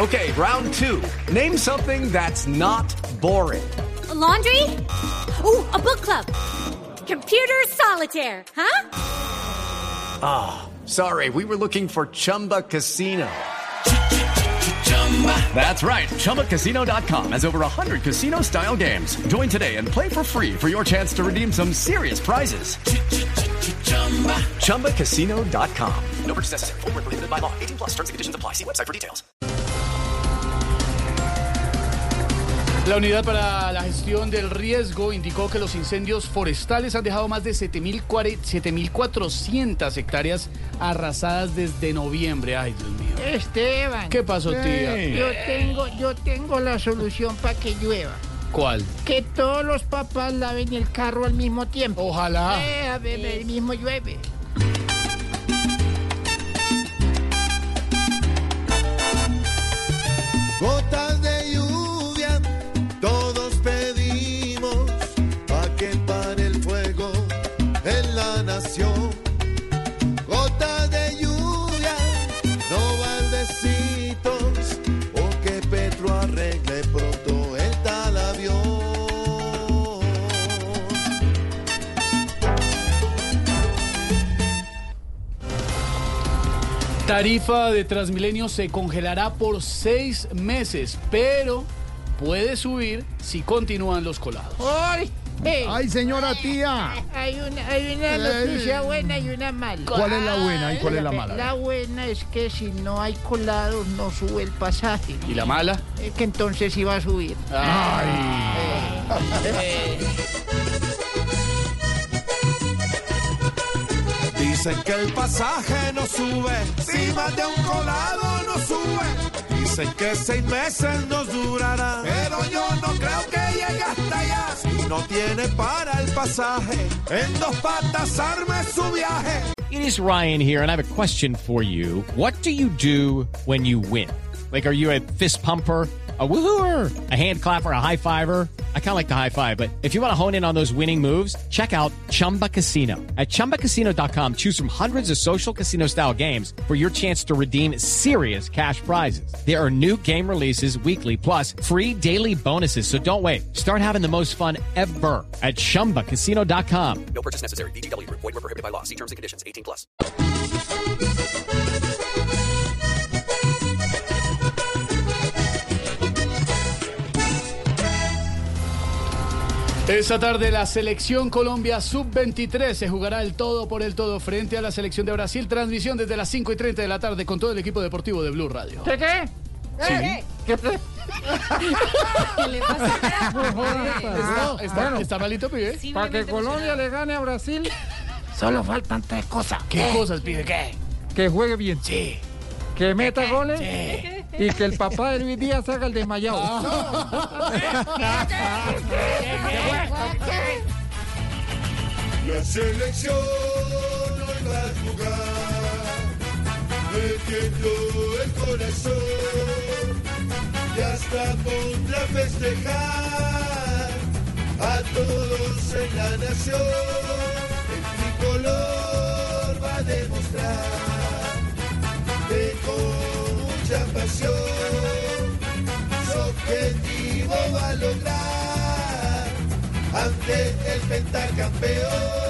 Okay, round two. Name something that's not boring. A laundry? Ooh, a book club. Computer solitaire, huh? Ah, sorry, we were looking for Chumba Casino. That's right, ChumbaCasino.com has over 100 casino-style games. Join today and play for free for your chance to redeem some serious prizes. ChumbaCasino.com. No purchase necessary. Void where prohibited by law. 18 plus terms and conditions apply. See website for details. La Unidad para la Gestión del Riesgo indicó que los incendios forestales han dejado más de 7.400 hectáreas arrasadas desde noviembre. Ay, Dios mío. Esteban. ¿Qué pasó, tía? Yo tengo la solución para que llueva. ¿Cuál? Que todos los papás laven el carro al mismo tiempo. Ojalá. A ver, el mismo llueve. Gotas de lluvia, todos pedimos pa' que pare el fuego en la nación. Gotas de lluvia, no baldecitos, o que Petro arregle pronto el tal avión. Tarifa de Transmilenio se congelará por 6 meses, pero puede subir si continúan los colados. ¡Ay! ¡Ay, señora tía! Hay una noticia buena y una mala. ¿Cuál es la buena y cuál es la mala? La buena es que si no hay colados no sube el pasaje. ¿Y la mala? Que entonces iba a subir. Dicen que el pasaje no sube, si más de un colado no sube. Dicen que 6 meses nos durará, pero yo no creo que llegue hasta allá. Si no tiene para el pasaje, en 2 patas arme su viaje. It is Ryan here, and I have a question for you. What do you do when you win? Like, are you a fist pumper, a woohooer, a hand clapper, a high fiver? I kind of like the high five, but if you want to hone in on those winning moves, check out Chumba Casino. At ChumbaCasino.com, choose from hundreds of social casino-style games for your chance to redeem serious cash prizes. There are new game releases weekly, plus free daily bonuses, so don't wait. Start having the most fun ever at ChumbaCasino.com. No purchase necessary. VGW Group. Void where prohibited by law. See terms and conditions. 18 plus. Esta tarde la selección Colombia Sub-23 se jugará el todo por el todo frente a la selección de Brasil. Transmisión desde las 5:30 de la tarde con todo el equipo deportivo de Blue Radio. ¿Qué? Sí. ¿Qué? ¿Qué le pasa? ¿Está malito, pibe? Para que Colombia le gane a Brasil, solo faltan 3 cosas. ¿Qué cosas, pibe? ¿Qué? Que juegue bien. Sí. Que meta goles. Sí. Y que el papá de Luis Díaz haga el desmayado. La selección hoy va a jugar, metiendo el corazón y hasta contra festejar a todos en la nación. El tricolor va a demostrar que con mucha pasión su objetivo va a lograr ante el pentacampeón.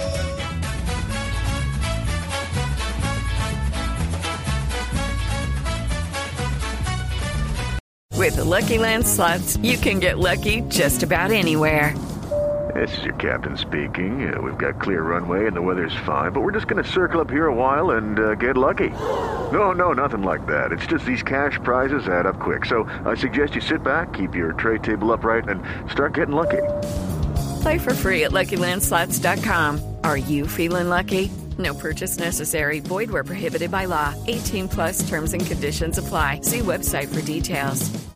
With the Lucky Land Slots, you can get lucky just about anywhere. This is your captain speaking. We've got clear runway and the weather's fine, but we're just going to circle up here a while and get lucky. No, nothing like that. It's just these cash prizes add up quick. So I suggest you sit back, keep your tray table upright, and start getting lucky. Play for free at LuckyLandSlots.com. Are you feeling lucky? No purchase necessary. Void where prohibited by law. 18 plus terms and conditions apply. See website for details.